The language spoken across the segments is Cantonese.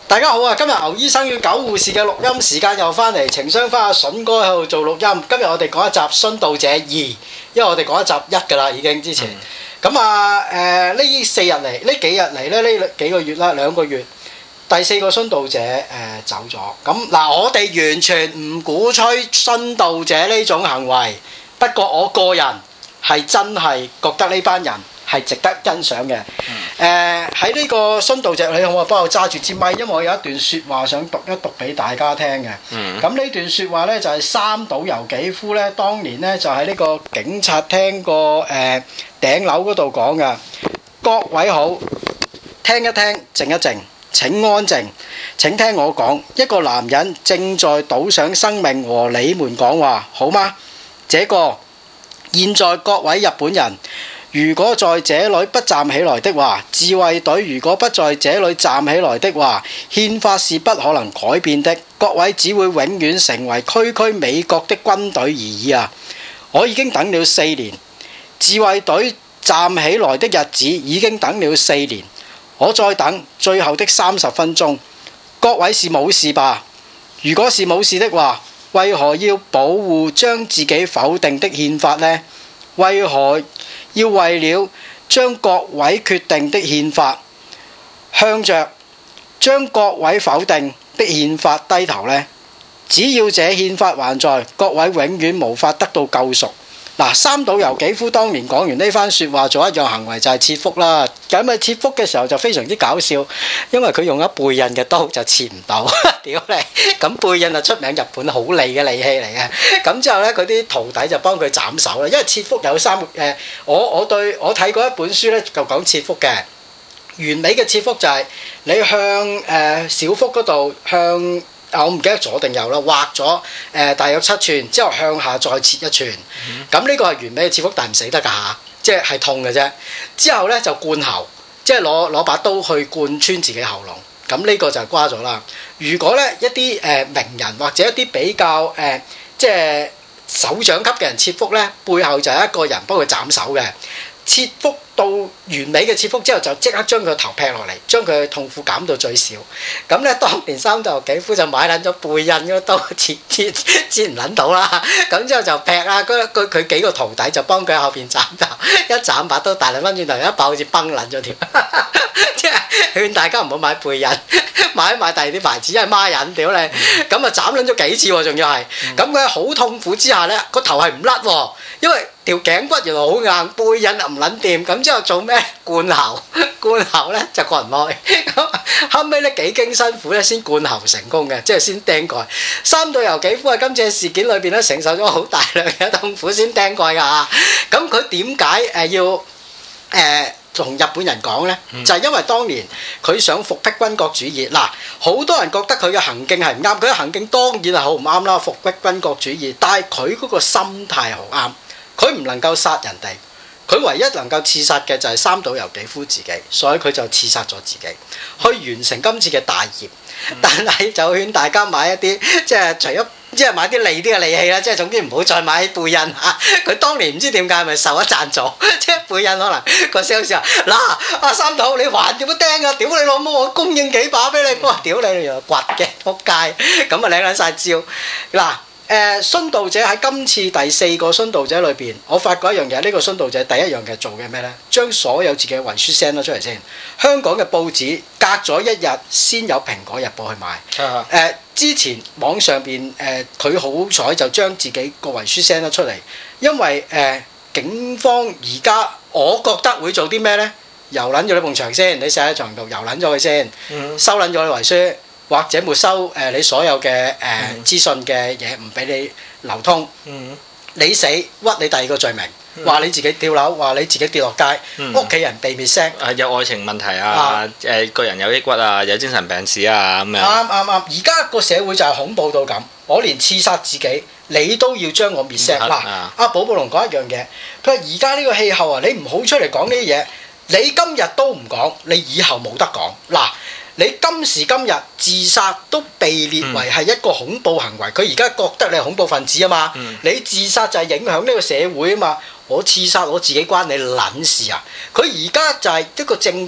大家好啊！今日牛醫生與狗護士嘅錄音時間又翻嚟，情商花阿筍哥喺度做錄音。今日我哋講一集《殉道者2》，因為我哋講一集1噶啦，已經之前。咁呢4日嚟，呢幾日嚟咧，呢幾個月啦，2個月，第4個殉道者走咗。咁嗱，我哋完全唔鼓吹殉道者呢種行為，不過我個人係真係覺得呢班人係值得欣賞嘅。喺呢個殉道者，你好啊，幫我揸住支咪，因為我有一段説話想讀一讀俾大家聽嘅。咁呢段説話呢，就係三島由紀夫呢，當年呢，就喺呢個警察廳個頂樓嗰度講嘅。各位好，聽一聽，靜一靜，請安靜，請聽我講。一個男人正在賭上生命和你們講話，好嗎？這個現在各位日本人，如果在這裡不站起來的話，自衛隊如果不在這裡站起來的話，憲法是不可能改變的。各位只會永遠成為區區美國的軍隊而已啊！我已經等了4年，自衛隊站起來的日子已經等了4年，我再等最後的30分鐘。各位是冇事吧？如果是冇事的話，為何要保護將自己否定的憲法呢？為何要為了將各位決定的憲法向着將各位否定的憲法低頭呢？只要這憲法還在，各位永遠無法得到救贖。嗱，三島由紀夫當年講完呢番説話，做一樣行為就係切腹啦。咁切腹嘅時候就非常之搞笑，因為佢用咗背印嘅刀就切唔到，屌你！咁背印就出名日本好利嘅利器嚟嘅。咁之後呢，佢啲徒弟就幫佢斬手啦。因為切腹有我睇過一本書呢，就講切腹嘅。完美嘅切腹就係你向小腹嗰度向。我唔記得左定右啦，劃咗大約7寸，之後向下再切1寸。咁呢個係完美嘅切腹，但係唔死得㗎嚇，即係痛嘅啫。之後呢，就灌喉，即係攞把刀去貫穿自己喉嚨。咁呢個就係瓜咗啦。如果呢一啲名人或者一啲比較即係首長級嘅人切腹呢，背後就係一個人幫佢斬手嘅。切腹到完美嘅切腹之後，就即刻將佢個頭劈落嚟，將佢嘅痛苦減到最少。咁咧，當年三島由紀夫就買撚咗背印嗰刀，切唔撚到啦。咁之後就劈啦，佢幾個徒弟就幫佢喺後邊斬頭，一斬把刀大兩分轉頭，一爆好似崩撚咗條。即係勸大家唔好買背印，買第二啲牌子，因為孖印屌你。咁啊斬撚咗幾次喎，仲要係。咁佢喺好痛苦之下咧，個頭係唔甩喎，因為條頸骨原來好硬，背印又唔撚掂。咁之後做咩？灌喉咧就灌唔開。咁後尾咧幾經辛苦咧先灌喉成功嘅，即係先釘蓋。三島由紀夫喺今次事件裏邊咧承受咗好大量嘅痛苦先釘蓋㗎嚇。咁佢點解要同日本人講呢？就係因為當年佢想復辟軍國主義。嗱，好多人覺得佢嘅行徑係唔啱，佢嘅行徑當然係好唔啱啦，復辟軍國主義。但係佢嗰個心態好啱，佢唔能夠殺人哋，佢唯一能夠刺殺嘅就係三島由紀夫自己，所以佢就刺殺咗自己，去完成今次嘅大業。但係就勸大家買一啲即係除咗即係買啲利啲嘅利器啦，即係總之唔好再買背印嚇。佢當年唔知點解係咪受咗贊助，即係背印可能個 sales 話嗱，阿三島你還點樣釘啊？屌你老母，我供應幾把俾你，我話屌你原來掘嘅仆街，咁啊領撚晒招嗱。殉道者喺今次第4個殉道者裏邊，我發覺一樣嘢，呢個殉道者第一樣嘅做嘅咩呢？將所有自己嘅遺書 send 咗出嚟先。香港嘅報紙隔咗1日先有《蘋果日報》去買。之前網上邊佢好彩就將自己個遺書 send 咗出嚟，因為警方而家我覺得會做啲咩呢？油撚咗你埲牆先，你寫喺牆度油撚咗佢先，收撚咗你遺書。或者沒收你所有嘅資訊嘅嘢，唔俾你流通。你死屈你第2個罪名，話你自己跳樓，話你自己跌落街，屋企人被滅聲。 有愛情問題啊，個人有抑鬱啊，有精神病史啊咁樣。啱。 而家個社會就係恐怖到咁，我連刺殺自己，你都要將我滅聲。嗱，阿寶寶龍講一樣嘢，佢話而家呢個氣候啊，你唔好出嚟講呢啲嘢，你今日都唔講，你以後冇得講。嗱。你今時今日自殺都被列為係一個恐怖行為，佢而家覺得你係恐怖分子啊嘛，你自殺就係影響呢個社會啊嘛，我刺殺我自己關你撚事啊！佢而家就係一個政權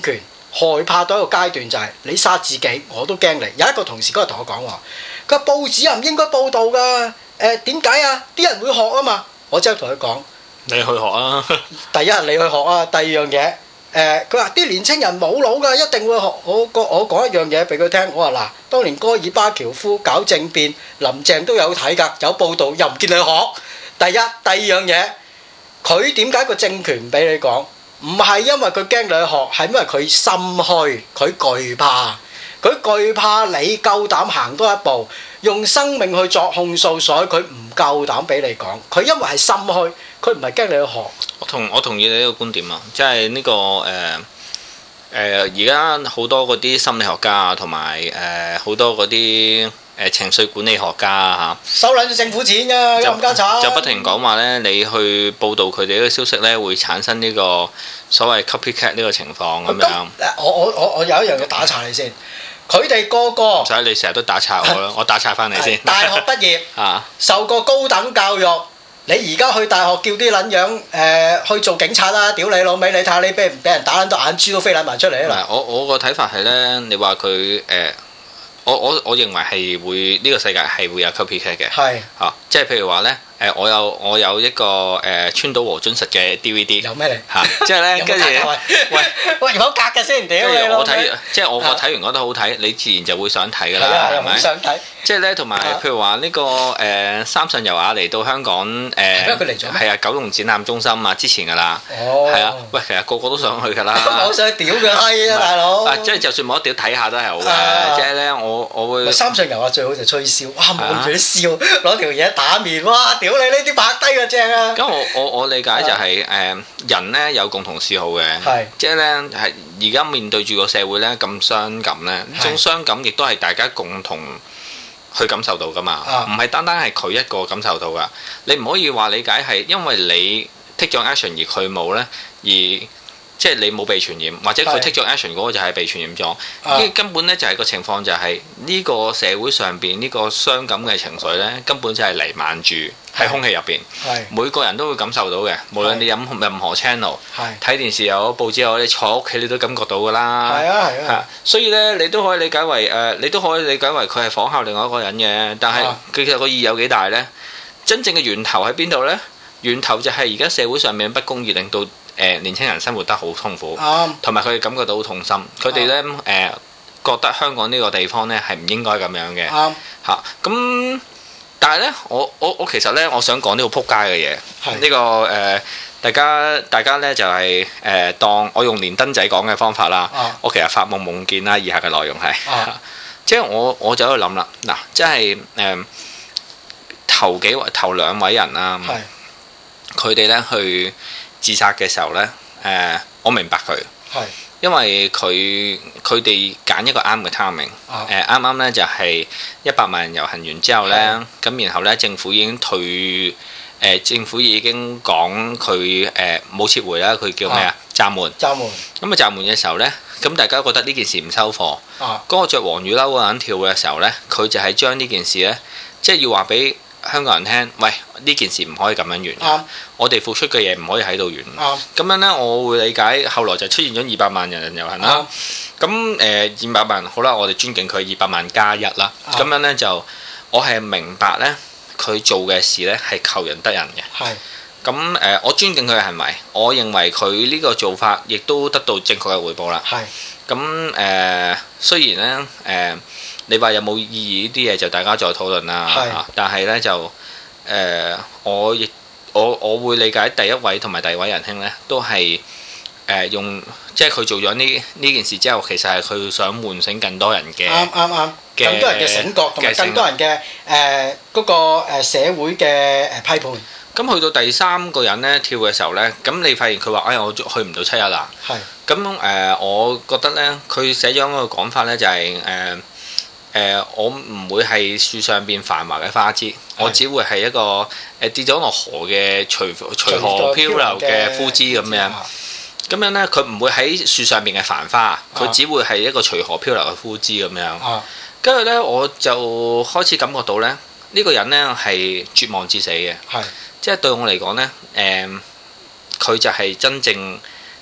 害怕到一個階段就係你殺自己我都驚你。有一個同事嗰日同我講話，佢話報紙唔應該報導㗎。點解啊？啲人會學啊嘛。我即刻同佢講， 你去學啊！ 第一你去學啊，第二樣嘢。佢話啲年青人冇腦㗎，一定會學。我講一樣嘢俾佢聽，我話嗱，當年戈爾巴喬夫搞政變，林鄭都有睇㗎，有報導，又唔見你學。第一、第二樣嘢，佢點解個政權唔俾你講？唔係因為佢驚你去學，係因為佢心虛，佢懼怕，佢懼怕你夠膽行多一步，用生命去作控訴，所以佢唔夠膽俾你講。佢因為係心虛，佢唔係驚你去學。我同意你呢個觀點啊，即係呢個而家好多嗰啲心理學家啊，同埋好多嗰啲情緒管理學家啊收撚咗政府錢㗎，咁家產就不停講話咧，你去報導佢哋呢個消息咧，會產生呢個所謂 copycat 呢個情況咁樣。 我有一樣嘢打岔你先，佢哋個個唔使你成日都打岔我啦，我打岔翻你先。 大學畢業受過高等教育。你而家去大學叫啲撚樣去做警察啦！屌你老味，你睇下你俾人打撚到眼珠都飛撚埋出嚟啊！ 我個睇法係咧，你話佢我認為係會呢個世界係會有 copycat 嘅。係即係譬如話咧。我有一個川島和津實嘅 DVD。有咩嚟？嚇，即係咧，跟住喂，有格嘅先，屌你我睇，即係我睇完覺得好睇，你自然就會想睇㗎啦，係咪？ 想睇。即係咧，同埋譬如話呢個三上悠亞嚟到香港佢嚟咗係啊，九龍展覽中心啊，之前㗎啦。哦。係啊，喂，其實個個都想去㗎啦。 我想屌嘅閪啊，大佬！ 即係就算冇得屌睇下都係好嘅，即係咧，我會。 三上悠亞最好就吹簫，哇！望住啲笑，攞條嘢打面，哇！屌你呢啲拍低嘅正啊！ 咁我理解就係人咧有共同嗜好嘅，即係咧係而家面對住個社會咧咁傷感咧，呢種傷感亦都係大家共同去感受到噶嘛，唔係單單係佢一個感受到噶。你唔可以話理解係因為你 take 咗 action 而佢冇咧，而即係你冇被傳染，或者佢 take 咗 action 嗰個就係被傳染咗。呢根本咧就係個情況就係呢個社會上邊呢個傷感嘅情緒咧，根本就係彌漫住喺空氣入邊。每個人都會感受到嘅，無論你飲任何 channel，睇電視又好，報紙又好，你坐屋企你都感覺到㗎啦。係啊。所以咧，你都可以理解為佢係仿效另外一個人嘅，但係佢其實個意義有幾大咧？真正嘅源頭喺邊度咧？源頭就係而家社會上面不公義令到年輕人生活得好痛苦，同埋佢哋感覺到好痛心。佢哋咧覺得香港呢個地方咧係唔應該咁樣嘅。嚇咁，但係咧，我其實咧，我想講呢個撲街嘅嘢。呢個大家咧就係當我用連登仔講嘅方法啦。我其實發夢見啦，以下嘅內容係即係我就喺度諗啦。嗱，即係頭兩位人啦，佢哋咧去自殺嘅時候呢，我明白佢，因為佢哋揀一個啱嘅 timing，啱啱呢就係100萬人遊行完之後呢，咁然後呢政府已經政府已經講佢冇撤回啦，佢叫咩啊？暫緩。咁啊暫緩嘅時候呢，咁大家覺得呢件事唔收貨，嗰個着黃雨褸嗰個人跳嘅時候呢，佢就係將呢件事呢，即係要話俾香港人聽，喂，呢件事唔可以咁樣完，我哋付出嘅嘢唔可以喺度完。咁樣呢，我會理解。後來就出現咗200萬人遊行啦。咁200萬好啦，我哋尊敬佢200萬加1啦。咁樣呢，就我係明白呢，佢做嘅事呢係求仁得仁嘅。咁我尊敬佢嘅行為，我認為佢呢個做法亦都得到正確嘅回報啦。咁雖然呢，你話有冇意義呢啲嘢就大家再討論啦。但係呢，就我會理解第一位同埋第二位仁兄呢，都係用即係佢做咗呢件事之後，其實係佢想喚醒更多人嘅啱，更多人嘅醒覺同埋更多人嘅嗰個社會嘅批判。 咁去到第三個人呢，跳嘅時候呢，咁你發現佢話：哎呀，我去唔到7日啦。咁我覺得呢，佢寫咗一個講法呢，就係我唔會係樹上邊繁華嘅花枝，我只會係一個跌咗落河嘅隨河漂流嘅枯枝咁樣。咁樣呢，佢唔會喺樹上邊嘅繁花，佢只會係一個隨河漂流嘅枯枝咁樣。跟住呢，我就開始感覺到呢，呢個人呢係絕望至死嘅。即係對我嚟講呢，佢就係真正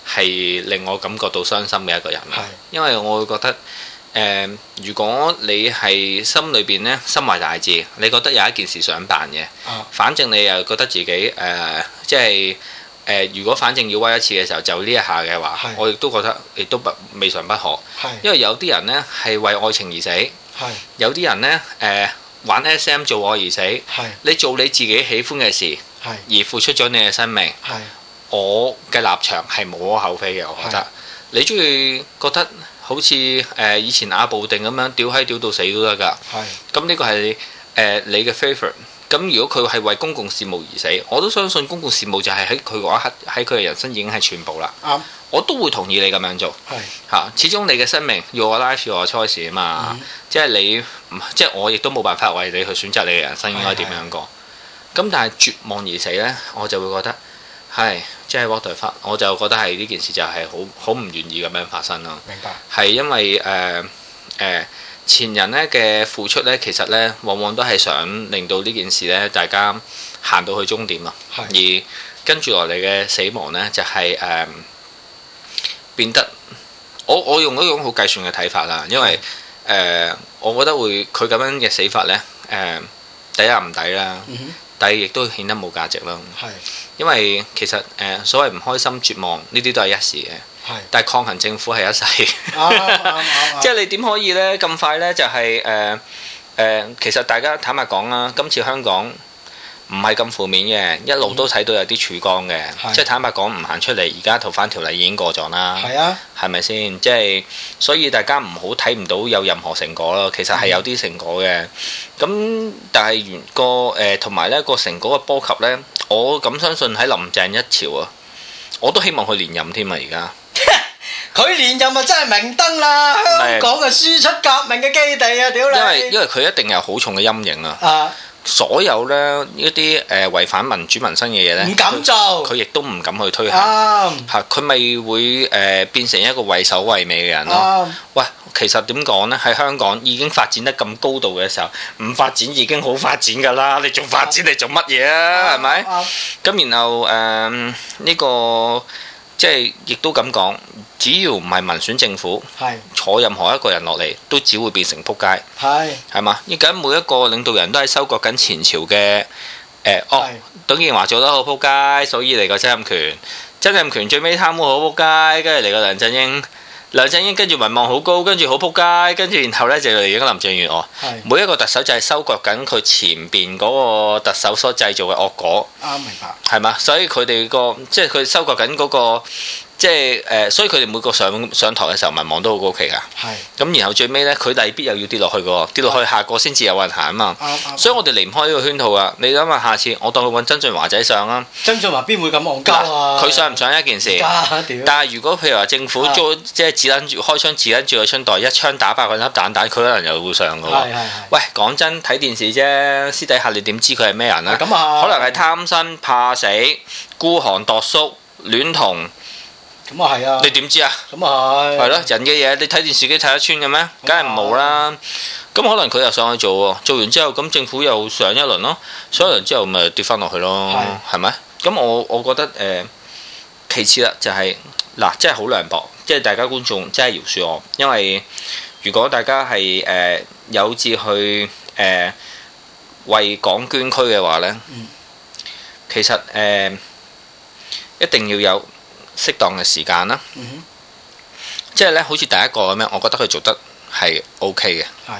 係令我感覺到傷心嘅一個人。因為我會覺得如果你係心裏邊咧心懷大志，你覺得有一件事想辦嘅，反正你又覺得自己即係如果反正要威一次嘅時候，就呢一下嘅話，我亦都覺得亦都未嘗不可。因為有啲人呢係為愛情而死，有啲人呢玩 SM 做愛而死。你做你自己喜歡嘅事，而付出咗你嘅生命，我嘅立場係無可厚非嘅。我覺得你中意覺得好似以前阿布定咁樣屌閪屌到死都得㗎。咁呢個係你嘅 favourite。咁如果佢係為公共事務而死，我都相信公共事務就係喺佢嗰一刻，喺佢嘅人生已經係全部啦。我都會同意你咁樣做。始終你嘅生命要我 life 要我 choice 啊嘛。即係你，即係我亦都冇辦法為你去選擇你嘅人生應該點樣過。咁但係絕望而死呢，我就會覺得係即係 what the fuck，我就覺得係呢件事就係好唔願意咁樣發生咯。 明白。係因為前人咧嘅付出咧，其實咧往往都係想令到呢件事咧，大家行到去終點咯。而跟住落嚟嘅死亡咧，就係變得我用一種好計算嘅睇法啦。因為我覺得會佢咁樣嘅死法咧，第一唔抵啦，第二亦都顯得冇價值啦。因為其實所謂唔開心、絕望呢啲都係一時嘅。但係抗衡政府係一世，即係你點可以呢？咁快呢？就係其實大家坦白講啦，今次香港唔係咁負面嘅，一路都睇到有啲曙光嘅。即係坦白講，唔行出嚟，而家逃犯條例已經過咗啦。係咪先？即係所以大家唔好睇唔到有任何成果咯。其實係有啲成果嘅。咁但係同埋呢個成果嘅波及呢，我咁相信喺林鄭一朝啊，我都希望佢連任添啊！而家。 佢連任啊，真係明燈啦！香港嘅輸出革命嘅基地啊，屌你！ 因為佢一定有好重嘅陰影啊！所有呢一啲違反民主民生嘅嘢呢，唔敢做，佢亦都唔敢去推行。佢咪會變成一個畏首畏尾嘅人咯。喂，其實點講呢？喺香港已經發展得咁高度嘅時候，唔發展已經好發展㗎啦！你仲發展你做乜嘢啊？係咪？咁然後呢個。即係亦都咁講，只要唔係民選政府，坐任何一個人落嚟，都只會變成仆街。係嘛？而家每一個領導人都係收割緊前朝嘅董建華做得好仆街，所以嚟個曾蔭權。曾蔭權最尾貪污好仆街，跟住嚟個梁振英。梁振英跟住民望好高，跟住好仆街，跟住然後呢就嚟咗林鄭月娥。每一個特首就係收割緊佢前邊嗰個特首所製造嘅惡果。 明白。係嘛？所以佢哋即係佢收割緊嗰個。即係所以佢哋每個上台嘅時候，民望都好高企㗎。咁然後最尾呢，佢未必又要跌落去㗎，跌落去下個先至有運行啊嘛。所以我哋離唔開呢個圈套啊！你諗下，下次我當佢揾曾俊華仔上啊。 曾俊華邊會咁戇鳩啊？佢上唔上一件事？但係如果譬如話政府即係開槍指撚住個春袋，一槍打爆佢粒彈，佢可能又會上㗎喎。喂，講真，睇電視啫，私底下你點知佢係咩人啊？可能係貪生怕死、孤寒度叔、戀童。 咁啊係啊！ 你點知啊？ 咁啊係。係咯，人嘅嘢你睇電視機睇得穿嘅咩？梗係冇啦。咁可能佢又上去做喎，做完之後咁政府又上一輪咯，上一輪之後咪跌翻落去咯，係咪？咁我覺得其次啦，就係嗱，真係好涼薄，即係大家觀眾真係饒恕我，因為如果大家係有志去為港捐軀嘅話呢，其實一定要有適當嘅時間啦，即係咧，好似第一個咁樣，我覺得佢做得係 OK 嘅。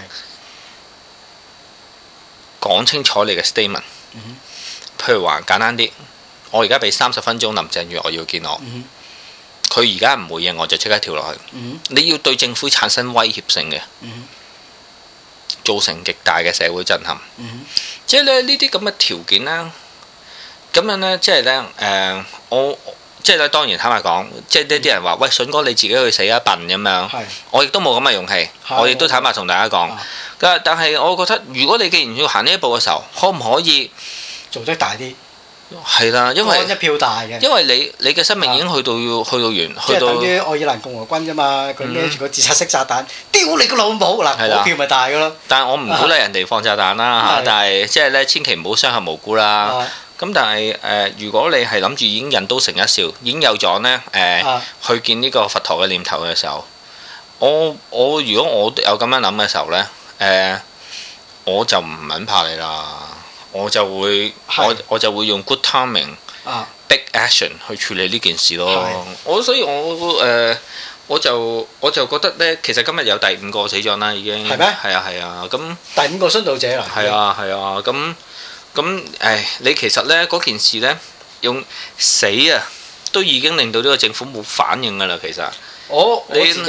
講清楚你嘅 statement。譬如話簡單啲，我而家俾30分鐘林鄭月娥要見我，佢而家唔回應我就即刻跳落去。你要對政府產生威脅性嘅，造成極大嘅社會震撼。即係咧呢啲咁嘅條件啦，咁樣呢，即係呢，我。即係咧，當然坦白講，即係呢啲人話：喂，筍哥你自己去死一笨咁樣。我亦都冇咁嘅勇氣，我亦都坦白同大家講。但係我覺得，如果你既然要行呢一步嘅時候，可唔可以做得大啲？ 係啦，因為一票大嘅。因為你嘅生命已經去到完， 即係等於愛爾蘭共和軍啫嘛，佢孭住個自殺式炸彈，丟你個老母嗱，嗰票咪大㗎咯。 但係我唔鼓勵人哋放炸彈啦嚇，但係即係咧，千祈唔好傷害無辜啦。 咁但係如果你係諗住已經人都成一笑，已經有咗呢去見呢個佛陀嘅念頭嘅時候，我如果我有咁樣諗嘅時候呢，我就唔撚怕你啦，我就會用 good timing、big action 去處理呢件事咯。所以我就覺得呢，其實今日有第5個死咗啦，已經係咩？係啊，咁第5個殉道者啦。 係啊，咁你其實呢嗰件事呢，用死啊，都已經令到呢個政府冇反應㗎啦。其實我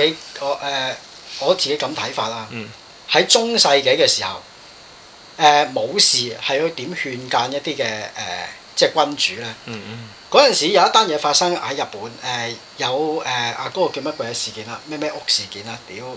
自己咁睇法啦。喺中世紀嘅時候，武士係要點勸諫一啲嘅即係君主呢？嗰陣時有一單嘢發生喺日本，有嗰個叫乜鬼嘢事件啦？咩屋事件啊？屌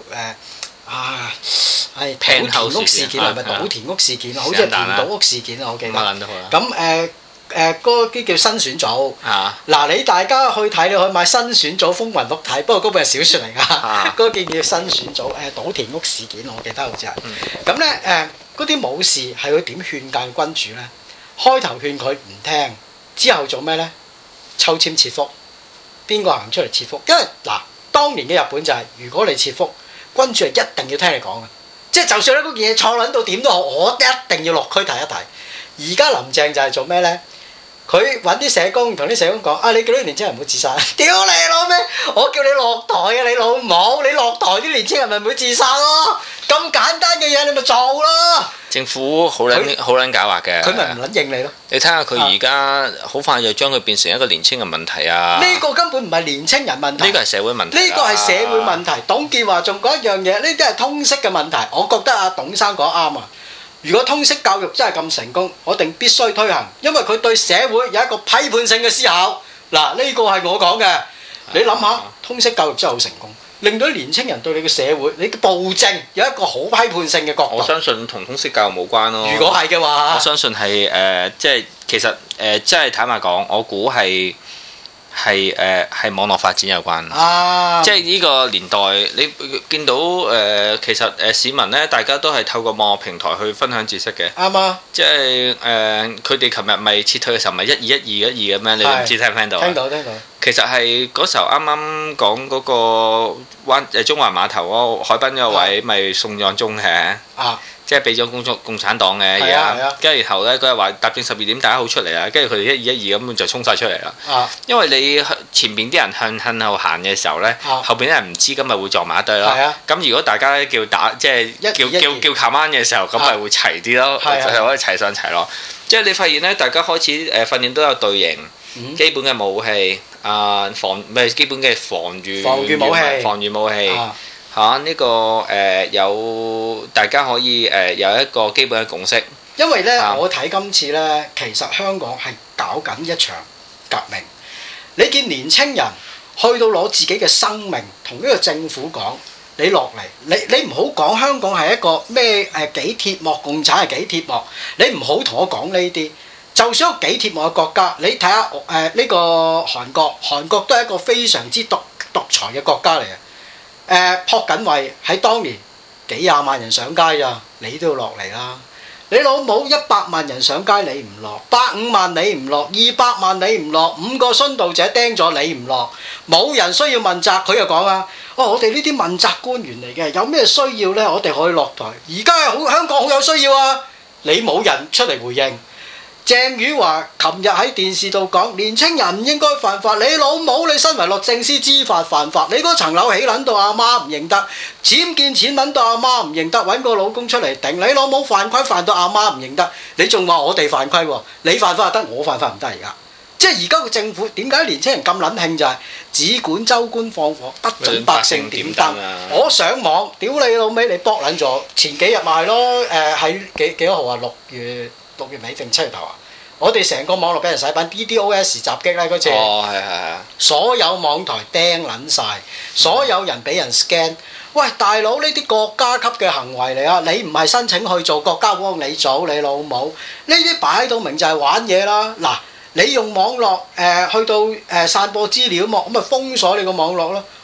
係島田屋事件係咪島田屋事件啊？好似係田島屋事件啊，我記得。咁嗰啲叫新選組。嗱，你大家去睇，你可以買新選組風雲錄睇，不過嗰本係小説嚟㗎。嗰個叫新選組島田屋事件，我記得好似係。咁咧嗰啲武士係會點勸諫君主咧？開頭勸佢唔聽，之後做咩咧？抽籤切腹，邊個行出嚟切腹？因為嗱，當年嘅日本就係，如果你切腹，君主係一定要聽你講嘅，即係就算咧嗰件嘢錯撚到點都好，我一定要落區睇一睇。而家林鄭就係做咩咧？佢揾啲社工同啲社工講：你叫啲年青人唔好自殺。屌你老味！我叫你落台啊！你老母！你落台啲年青人咪唔會自殺咯？咁簡單嘅嘢你咪做咯！ 政府好撚狡猾嘅， 佢咪唔撚應你咯？ 你睇下佢而家好快就將佢變成一個年青人問題啊！ 呢個根本唔係年青人問題， 呢個係社會問題。 呢個係社會問題。董建華仲講一樣嘢，呢啲係通識嘅問題。我覺得董生講啱啊！如果通識教育真係咁成功，我定必須推行，因為佢對社會有一個批判性嘅思考。嗱，呢個係我講嘅。你諗下，通識教育真係好成功，令到年青人對你嘅社會、你嘅暴政有一個好批判性嘅角度。 我相信同通識教育冇關咯。 如果係嘅話， 我相信係即係其實即係坦白講，我估係網絡發展有關。即係呢個年代，你見到其實市民咧，大家都係透過網絡平台去分享知識嘅。啱啊！即係佢哋琴日咪撤退嘅時候，咪12121咁樣，你唔知聽唔聽到？聽到。其實係嗰時候啱啱講嗰個中環碼頭嗰個海濱嗰個位，咪送咗鐘嘅。即係俾咗共產黨嘅嘢啊！跟住然後咧，佢又話踏正12點，大家好出嚟啦。跟住佢哋121咁就衝晒出嚟啦。因為你前邊啲人向後行嘅時候咧，後邊啲人唔知，咁咪會撞埋一堆咯。咁如果大家叫打即係叫靠彎嘅時候，咁咪會齊啲咯，就係可以齊上齊落。即係你發現咧，大家開始訓練都有隊形，基本嘅武器基本嘅防禦武器。呢個有大家可以有一個基本嘅共識。因為咧，我睇今次咧，其實香港係搞緊一場革命。你見年青人去到攞自己嘅生命，同呢個政府講：你落嚟，你唔好講香港係一個咩幾鐵幕，共產係幾鐵幕。你唔好同我講呢啲。就算一個幾鐵幕嘅國家，你睇下呢個韓國都係一個非常之獨裁嘅國家嚟嘅。朴槿惠喺當年幾廿萬人上街咋，你都要落嚟啦！你老母100萬人上街你唔落，150萬你唔落，200萬你唔落，5個殉道者釘咗你唔落，冇人需要問責。佢又講啊，我哋呢啲問責官員嚟嘅，有咩需要呢？我哋可以落台。而家香港好有需要啊！你冇人出嚟回應。鄭宇華琴日喺電視度講，年青人唔應該犯法。你老母，你身為律政司知法犯法，你嗰層樓起撚到阿媽唔認得，僭建錢撚到阿媽唔認得，揾個老公出嚟頂。你老母犯規犯到阿媽唔認得，你仲話我哋犯規喎？你犯法得，我犯法唔得而家。即係而家個政府點解年青人咁撚興就係只管州官放火，不准百姓點燈。我上網屌你老味，你搏撚咗前幾日咪係咯？喺幾多號啊？6月尾定7月頭啊？我哋成個網絡俾人洗版 DDoS 襲擊咧嗰次，所有網台釘撚晒，所有人俾人 scan。喂，大佬，呢啲國家級嘅行為嚟啊！你唔係申請去做，國家幫你做，你老母呢啲擺到明就係玩嘢啦。嗱，你用網絡去到散播資料咁咪封鎖你個網絡咯。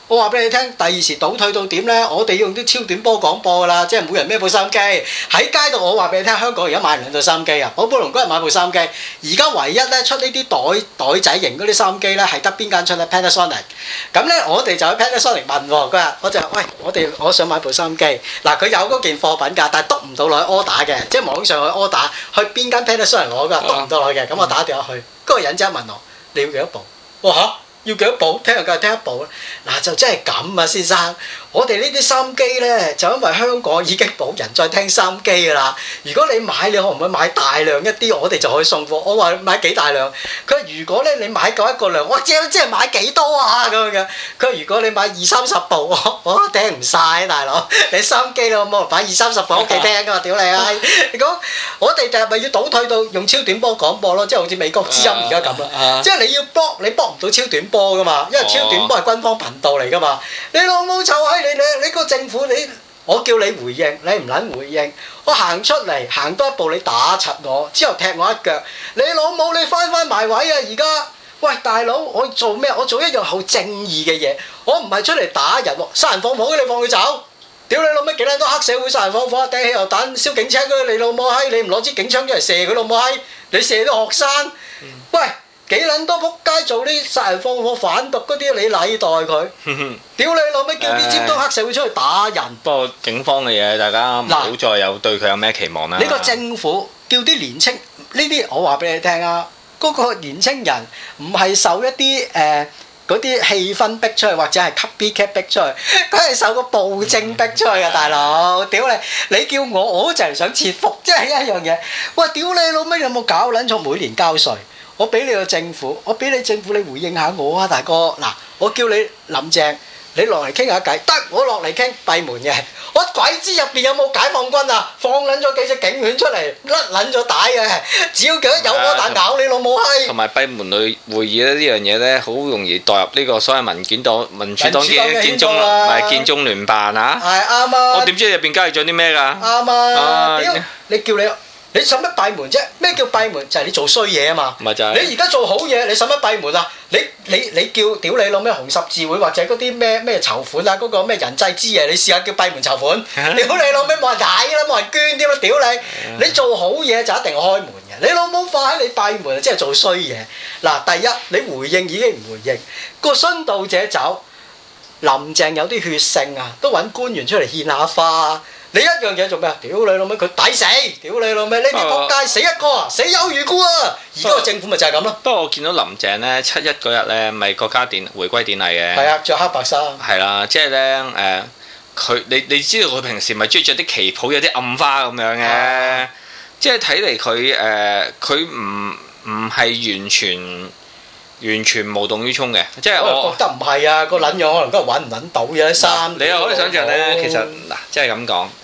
我話俾你聽，第二時倒退到點呢？我哋用啲超短波廣播㗎啦，即係每人孭部收音機喺街度。我話俾你聽，香港而家買2套收音機啊！寶寶龍嗰日買部收音機，而家唯一咧出呢啲袋仔型嗰啲收音機咧，係得邊間出咧 Panasonic。咁咧我哋就喺 Panasonic 問喎，佢話我就喂我想買部收音機。嗱佢有嗰件貨品㗎，但係篤唔到落去 order 嘅，即係網上去 order 去邊間 Panasonic 攞㗎，篤唔到落去嘅。咁我打電話去，嗰個人即刻問我你要幾多部？我話嚇。要幾多部？聽日梗係聽一部啦。嗱就真係咁啊，先生。我哋呢啲收音機咧，就因為香港已經冇人再聽收音機㗎啦。如果你買，你可唔可以買大量一啲？我哋就可以送貨。我話買幾大量？佢話如果咧你買夠一個量，我即係買幾多啊咁樣。佢話如果你買20-30部，我聽唔晒大佬。你收音機咯，冇人擺20-30部屋企聽㗎嘛？屌你啊！你講我哋就係咪要倒退到用超短波廣播咯？即係好似美國之音而家咁啦。即係你要播，你播唔到超短波㗎嘛？因為超短波係軍方頻道嚟㗎嘛。你老母臭閪！你個政府我叫你回應，你唔撚回應，我行出嚟行多一步你打柒我，之後踢我一腳，你老母你翻埋位啊！而家喂大佬，我做咩？我做一樣好正義嘅嘢，我唔係出嚟打人喎，殺人放火嘅你放佢走，屌你老味幾撚多黑社會殺人放火，掟汽油彈燒警車嗰啲你老母閪，你唔攞支警槍出嚟射佢老母閪，你射啲學生，喂！幾撚多仆街做啲殺人放火販毒嗰啲，你禮待佢？屌你老味，叫啲尖東黑社會出去打人。不過警方嘅嘢，大家唔好再有對佢有咩期望啦。 呢個政府叫啲年青呢啲，我話俾你聽啊，嗰個年青人唔係受一啲嗰啲氣氛逼出去，或者係 copycat 逼出去，佢係受個暴政逼出去嘅大佬。屌你叫我就係想切腹，即係一樣嘢。喂，屌你老味，有冇搞撚錯？每年交稅。我俾你個政府，我俾你政府，你回應下我啊，大哥！嗱，我叫你林鄭，你落嚟傾下偈，得我落嚟傾閉門嘅，我鬼知入邊有冇解放軍啊？放撚咗幾隻警犬出嚟，甩撚咗帶嘅，只要佢有我彈咬你老母閪！同埋閉門類會議咧呢樣嘢咧，好容易代入呢個所謂民主黨嘅建中聯辦啊！ 係啱啊！ 我點知入邊交易咗啲咩㗎？ 啱啊！屌你叫你使乜閉門啫？咩叫閉門？就係你做衰嘢啊嘛！ 咪就係你而家做好嘢，你使乜閉門啊？你叫屌你老咩紅十字會或者嗰啲咩籌款啊？嗰個咩人際之夜，你試下叫閉門籌款，屌你老咩冇人睇啦，冇人捐添啦！屌你！你做好嘢就一定開門嘅，你老母快你閉門即係做衰嘢。嗱，第一你回應已經唔回應，個殉道者走，林鄭有啲血性啊，都揾官員出嚟獻下花。你一樣嘢做咩啊？屌你老味，佢抵死！屌你老味，呢啲仆街死一個，死有餘辜啊！而家個政府咪就係咁咯。 不過我見到林鄭咧7·1嗰日咧，咪國家回歸典禮嘅。 係啊，着黑白衫。係啦，即係咧佢你知道佢平時咪中意着啲旗袍有啲暗花咁樣嘅，即係睇嚟佢唔係完全無動於衷嘅，即係我覺得唔係啊，個撚樣可能今日揾唔揾到嘅衫。 你又可以想象咧，其實嗱，即係咁講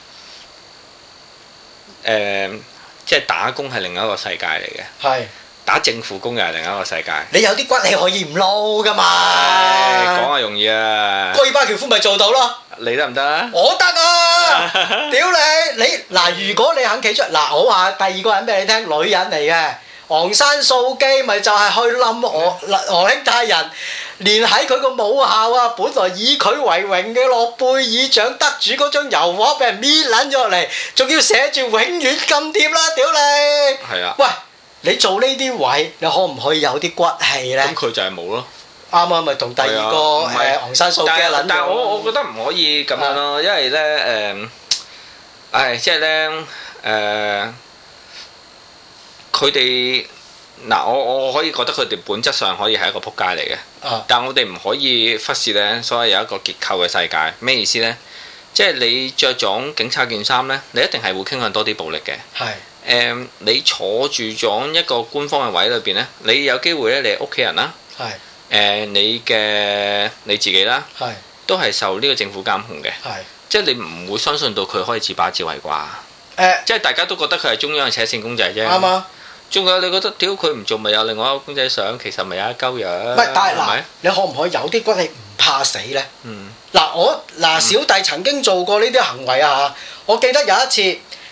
即係打工係另一個世界嚟嘅。係打政府工又係另一個世界。你有啲骨氣可以唔撈噶嘛？講係容易啊。 戈爾巴喬夫咪做到咯。 你得唔得啊？ 我得啊！屌你嗱，如果你肯企出嗱，我話第二個人俾你聽，女人嚟嘅。昂山素姬咪就係去冧俄兄太人，連喺佢個母校啊，本來以佢為榮嘅諾貝爾獎得主嗰張油畫俾人搣撚咗落嚟，仲要寫住永遠咁貼啦！屌你！係啊！喂，你做呢啲位，你可唔可以有啲骨氣咧？咁佢就係冇咯。 啱啊，咪同第二個昂山素姬撚咗。 但係我覺得唔可以咁樣咯，因為咧即係咧佢哋嗱，我可以覺得佢哋本質上可以係一個撲街嚟嘅，但係我哋唔可以忽視咧，所謂有一個結構嘅世界。咩意思咧？即係你着咗警察件衫咧，你一定係會傾向多啲暴力嘅。係你坐住咗一個官方嘅位裏邊咧，你有機會咧，你屋企人啦，係你自己啦，係都係受呢個政府監控嘅。係即係你唔會相信到佢可以自把自為啩？即係大家都覺得佢係中央嘅扯線公仔啫。啱啊！仲有你覺得屌佢唔做咪有另外一個公仔相，其實咪有一鳩樣。唔係，但係嗱，你可唔可以有啲骨氣唔怕死咧？嗱小弟曾經做過呢啲行為啊！我記得有一次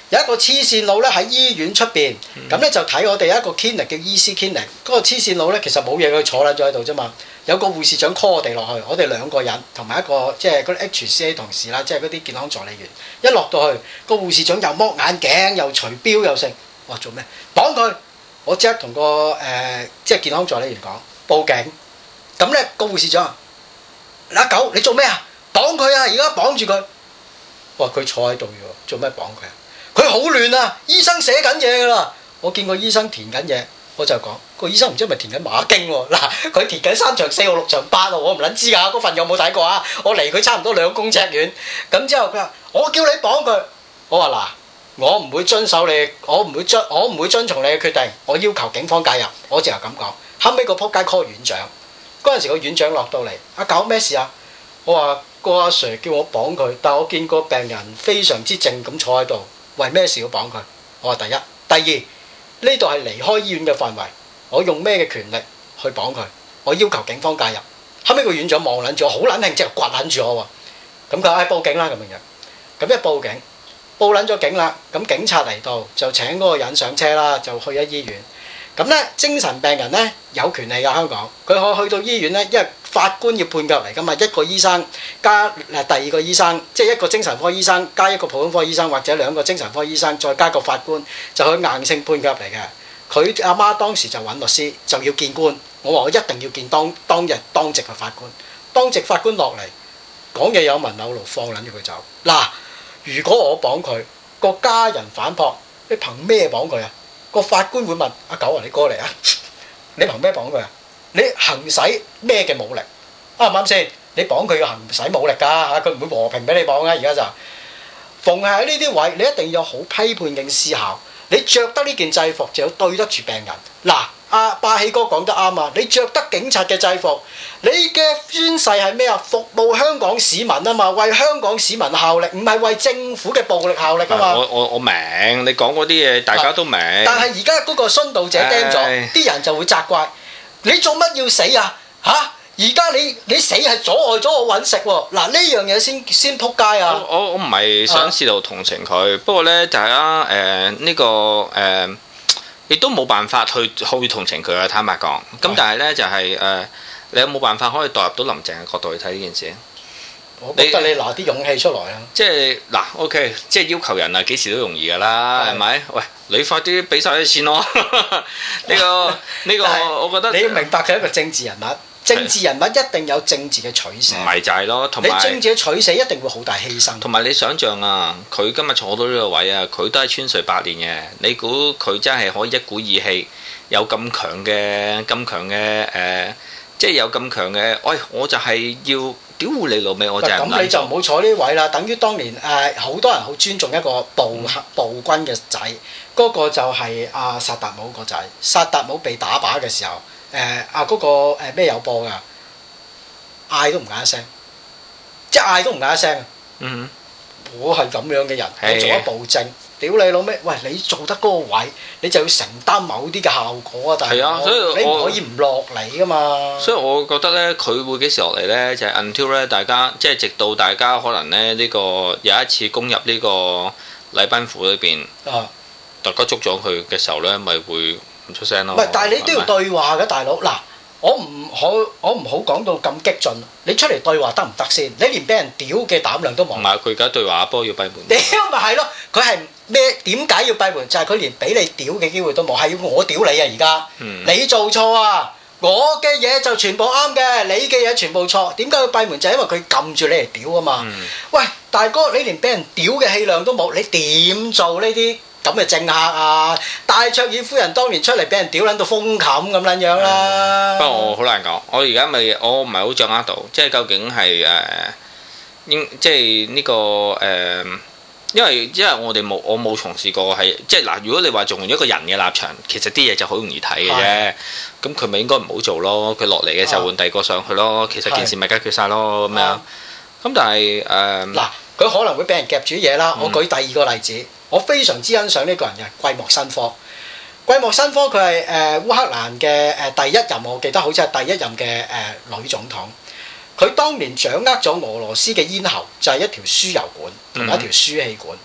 有一個黐線佬咧喺醫院出邊，咁咧就睇我哋一個 clinic 叫醫師 clinic。嗰個黐線佬咧其實冇嘢，佢坐撚咗喺度啫嘛。有個護士長 call 我哋落去，我哋兩個人同埋一個即係嗰啲 HCA 同事啦，即係嗰啲健康助理員。一落到去，個護士長又剝眼鏡，又除錶，又剩。哇！做咩？綁佢！我即刻同個即係健康助理員講報警。咁咧個護士長阿狗，你做咩啊？綁佢啊！而家綁住佢。哇！佢坐喺度喎，做咩綁佢啊？佢好亂啊！醫生寫緊嘢㗎啦。我見個醫生填緊嘢，我就講個醫生唔知係咪填緊馬經喎。嗱，佢填緊3場4號6場8號，我唔撚知㗎。嗰份有冇睇過啊？我離佢差唔多2公尺遠。咁之後佢話：我叫你綁佢。我話嗱，我唔會遵守你，我唔會遵從你嘅決定。我要求警方介入。我就係咁講。後尾個仆街 call 院長。嗰陣時個院長落到嚟，阿狗咩事啊？我話個阿 Sir 叫我綁佢，但我見個病人非常之靜咁坐喺度，為咩事要綁佢？我話第一，第二，呢度係離開醫院嘅範圍，我用咩嘅權力去綁佢？我要求警方介入。後尾個院長望撚住我，好撚興，即係掘撚住我喎。咁佢話報警啦咁樣。咁一報警，報撚咗警啦，咁警察嚟到就請嗰個人上車啦，就去咗醫院。咁咧，精神病人咧有權利㗎，香港佢可以去到醫院咧，因為法官要判決嚟㗎嘛，一個醫生加第二個醫生，即係一個精神科醫生加一個普通科醫生，或者2個精神科醫生再加個法官，就去硬性判決嚟嘅。佢阿媽當時就揾律師，就要見官。我話我一定要見當日當值嘅法官，當值法官落嚟講嘢有文有路，放撚住佢走。嗱，如果我綁佢，個家人反駁，你憑咩綁佢啊？個法官會問阿狗啊，你過嚟啊！你憑咩綁佢啊？你行使咩嘅武力？啱唔啱先？你綁佢要行使武力㗎嚇，佢唔會和平俾你綁啊！而家就逢係喺呢啲位，你一定要好批判性思考。你着得呢件制服就要對得住病人。嗱，阿霸氣哥講得啱啊！你着得警察嘅制服，你嘅宣誓係咩啊？服務香港市民啊嘛，為香港市民效力，唔係為政府嘅暴力效力啊嘛。 我明，你講嗰啲嘢大家都明。但係而家嗰個殉道者釘咗，啲人就會責怪你做乜要死啊？嚇！而家你死係阻礙咗我揾食喎。嗱，呢樣嘢先撲街啊！ 我唔係想試圖同情佢，不過咧大家呢個亦都冇辦法去同情佢啊！坦白講，咁但係咧就係你有冇辦法可以代入到林鄭嘅角度去睇呢件事？ 我覺得你拿啲勇氣出來啊！ 即係嗱，OK，即係要求人啊，幾時都容易㗎啦，係咪？喂，你快啲俾晒啲錢咯！呢個，我覺得你要明白佢係一個政治人物。政治人物一定有政治嘅取捨， 唔係就係咯，同埋你政治嘅取捨一定會好大犧牲。 同埋你想象啊，佢今日坐到呢個位啊，佢都係穿隧8年嘅。你估佢真係可以一股義氣，有咁強嘅即係有咁強嘅，喂，我就係要屌你老味，我就係咁你就唔好坐呢位啦。等於當年好多人好尊重一個暴君嘅仔，嗰個就係阿薩達姆個仔。薩達姆被打靶嘅時候。嗰個咩有播㗎？嗌都唔嗌一聲，即係嗌都唔嗌一聲。 嗯， 我係咁樣嘅人，我做一暴政，屌你老味！喂，你做得嗰個位，你就要承擔某啲嘅效果啊！但係所以你唔可以唔落嚟㗎嘛。 所以我覺得咧，佢會幾時落嚟咧？就係 until 咧，大家即係直到大家可能咧呢個有一次攻入呢個禮賓府裏邊，大家捉咗佢嘅時候咧，咪會。唔出聲咯。唔係， 但係你都要對話嘅，大佬。嗱，我唔好講到咁激進。你出嚟對話得唔得先？你連俾人屌嘅膽量都冇。唔係， 佢而家對話，不過要閉門。 屌咪係咯，佢係咩？點解要閉門？就係佢連俾你屌嘅機會都冇，係要我屌你啊！而家你做錯啊！我嘅嘢就全部啱嘅，你嘅嘢全部錯。點解要閉門？就係因為佢撳住你嚟屌啊嘛。喂，大哥，你連俾人屌嘅氣量都冇，你點做呢啲咁嘅政客啊？戴卓爾夫人當年出嚟俾人屌撚到封冚咁撚樣啦。 不過我好難講，我而家我唔係好掌握到，即係究竟係即係呢個因為我冇從事過係即係嗱，如果你話從一個人嘅立場，其實啲嘢就好容易睇嘅啫。咁佢咪應該唔好做咯？佢落嚟嘅時候換第二個上去咯。其實件事咪解決晒咯咁樣。咁但係嗱，佢可能會俾人夾住嘢啦。我舉第二個例子，我非常之欣賞呢個人嘅季莫申科。季莫申科佢係烏克蘭嘅第一任，我記得好似係第一任嘅女總統。佢當年掌握咗俄羅斯嘅咽喉，就係一條輸油管同埋一條輸氣管。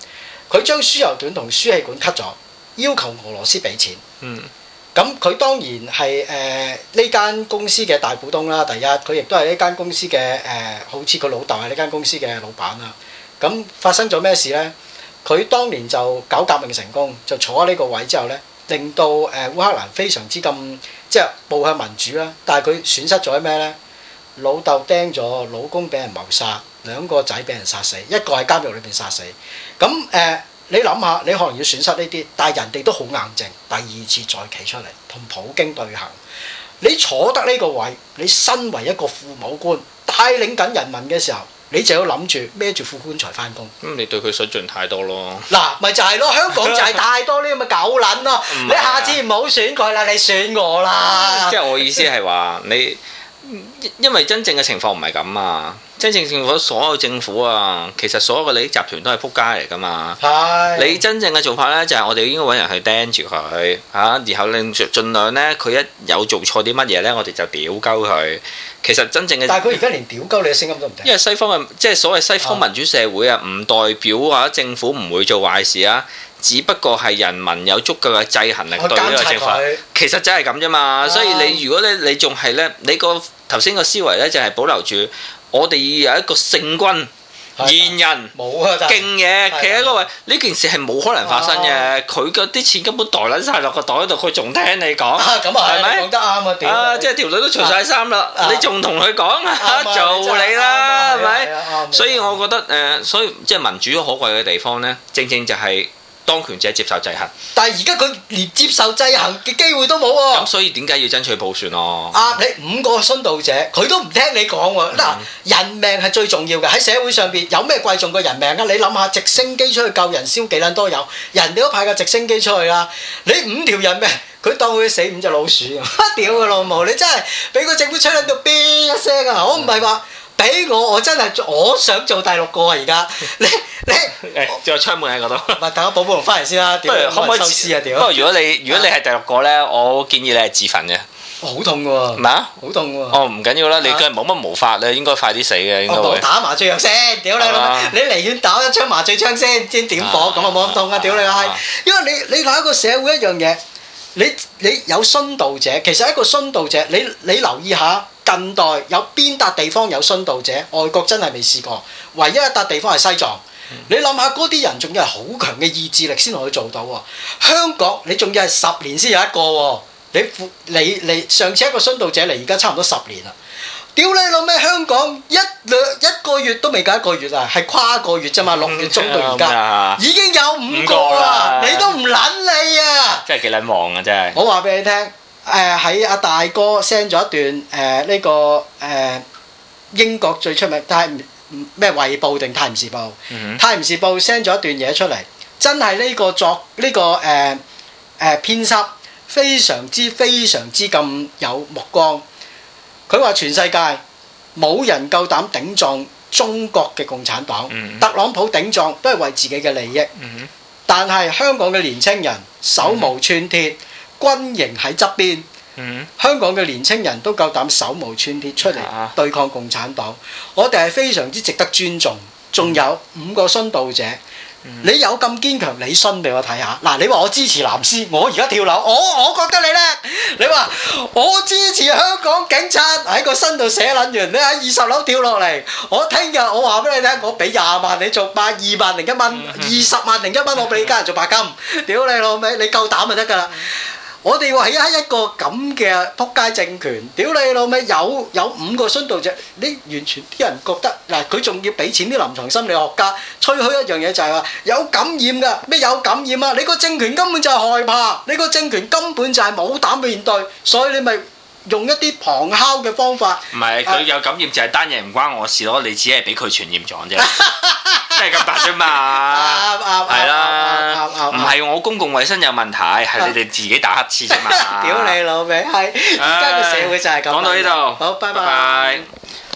佢將輸油管同輸氣管 cut 咗，要求俄羅斯俾錢。咁佢當然係呢間公司嘅大股東啦。第一，佢亦都係呢間公司嘅好似佢老豆係呢間公司嘅老闆啦。咁發生咗咩事呢？佢當年就搞革命成功，就坐喺呢個位之後呢，令到烏克蘭非常之咁即係步向民主啦。但係佢損失咗咩呢？老豆釘咗，老公俾人謀殺，兩個仔俾人殺死，一個喺監獄裏邊殺死。咁你諗下，你可能要損失呢啲，但係人哋都好硬淨，第二次再企出嚟同普京對行。你坐得呢個位，你身為一個父母官，帶領緊人民嘅時候，你就要諗住孭住副棺材翻工。 咁你對佢水準太多咯。嗱， 咪就係咯，香港就係太多呢咁嘅狗撚咯。你下次唔好選佢啦，你選我啦。 即係我意思係話你。因為真正嘅情況唔係咁啊！真正政府所有政府啊，其實所有嘅利益集團都係撲街嚟噶嘛。你真正嘅做法呢，就係我哋應該揾人去釘住佢嚇，然後令盡量呢，佢一有做錯啲乜嘢呢，我哋就屌鳩佢。其實真正嘅， 但係佢而家連屌鳩你嘅聲音都唔聽。 因為西方嘅即係所謂西方民主社會啊，唔代表話政府唔會做壞事啊。只不過係人民有足夠嘅制衡力對呢個政府，其實真係咁啫嘛。所以你如果你仲係咧，你個頭先個思維咧就係保留住我哋要有一個聖君賢人勁嘢企喺嗰位，呢件事係冇可能發生嘅。佢嗰啲錢根本袋撚晒落個袋度，佢仲聽你講，係咪？講得啱啊！即係條女都除晒衫啦，你仲同佢講做你啦，係咪？所以我覺得所以即係民主可貴嘅地方咧，正正就係。當權者接受制衡， 但係而家佢連接受制衡嘅機會都冇喎。 咁所以點解要爭取普選咯？ 你5個殉道者，佢都唔聽你講喎。嗱，人命係最重要嘅，喺社會上邊有咩貴重過人命啊？你諗下，直升機出去救人燒幾撚多油，人哋都派架直升機出去啦。你5條人命，佢當佢死5隻老鼠啊！屌佢老母！你真係俾個政府吹撚到邊一聲啊！我唔係話。俾我真係我想做第6個啊！而家你仲有窗門喺嗰度。 唔係，等我寶寶龍翻嚟先啦。不如可唔可以收屍啊？屌！ 不過如果你係第6個咧，我建議你係自焚嘅。 好痛喎！ 咩啊？ 好痛喎！ 哦，唔緊要啦，你梗係冇乜毛法咧，應該快啲死嘅應該會。 打麻醉藥先，屌你老味！你離遠打一槍麻醉槍先點火，咁啊冇咁痛啊！屌你個閪！因為你睇一個社會一樣嘢，你有殉道者，其實一個殉道者，你留意下。近代有邊笪地方有殉道者？外國真係未試過，唯一一笪地方係西藏。你諗下嗰啲人仲要係好強嘅意志力先可以做到喎。香港你仲要係10年先有一個喎。你上次一個殉道者嚟，而家差唔多10年啦。屌你老味！香港一個月都未夠1個月啊，係跨個月啫嘛，6月中到而家已經有5個啦，你都唔撚理啊！ 真係幾撚忙啊！真係。 我話俾你聽。喺阿大哥 send 咗一段呢個英國最出名，但係咩《衛報》定《泰晤士報》？《泰晤士報》send 咗一段嘢出嚟，真係呢個編輯非常之咁有目光。佢話全世界冇人夠膽頂撞中國嘅共產黨，特朗普頂撞都係為自己嘅利益，但係香港嘅年青人手無寸鐵。軍營喺側邊，香港嘅年青人都夠膽手無寸鐵出嚟對抗共產黨，我哋係非常之值得尊重。仲有5個殉道者，你有咁堅強，你殉俾我睇下。嗱，你話我支持藍絲，我而家跳樓，我覺得你叻。你話我支持香港警察喺個身度寫撚完，你喺20樓跳落嚟，我聽日我話俾你聽，我俾20萬你做2萬零1蚊，20萬零1蚊我俾你家人做白金。屌你老味，你夠膽就得㗎啦！我哋話喺一個咁嘅撲街政權，屌你老味，有5個殉道者，你完全啲人覺得嗱，佢仲要俾錢啲臨床心理學家吹噓一樣嘢，就係話有感染㗎，咩有感染啊？你個政權根本就係害怕，你個政權根本就係冇膽面對，所以你咪用一啲旁敲嘅方法。唔係佢有感染就係單嘢唔關我事咯，你只係俾佢傳染咗啫。真係咁大啫嘛，係啦，唔係我公共衛生有問題，係你哋自己打乞嗤啫嘛。 屌你老味，係而家個社會就係咁。 講到呢度， 好，拜拜。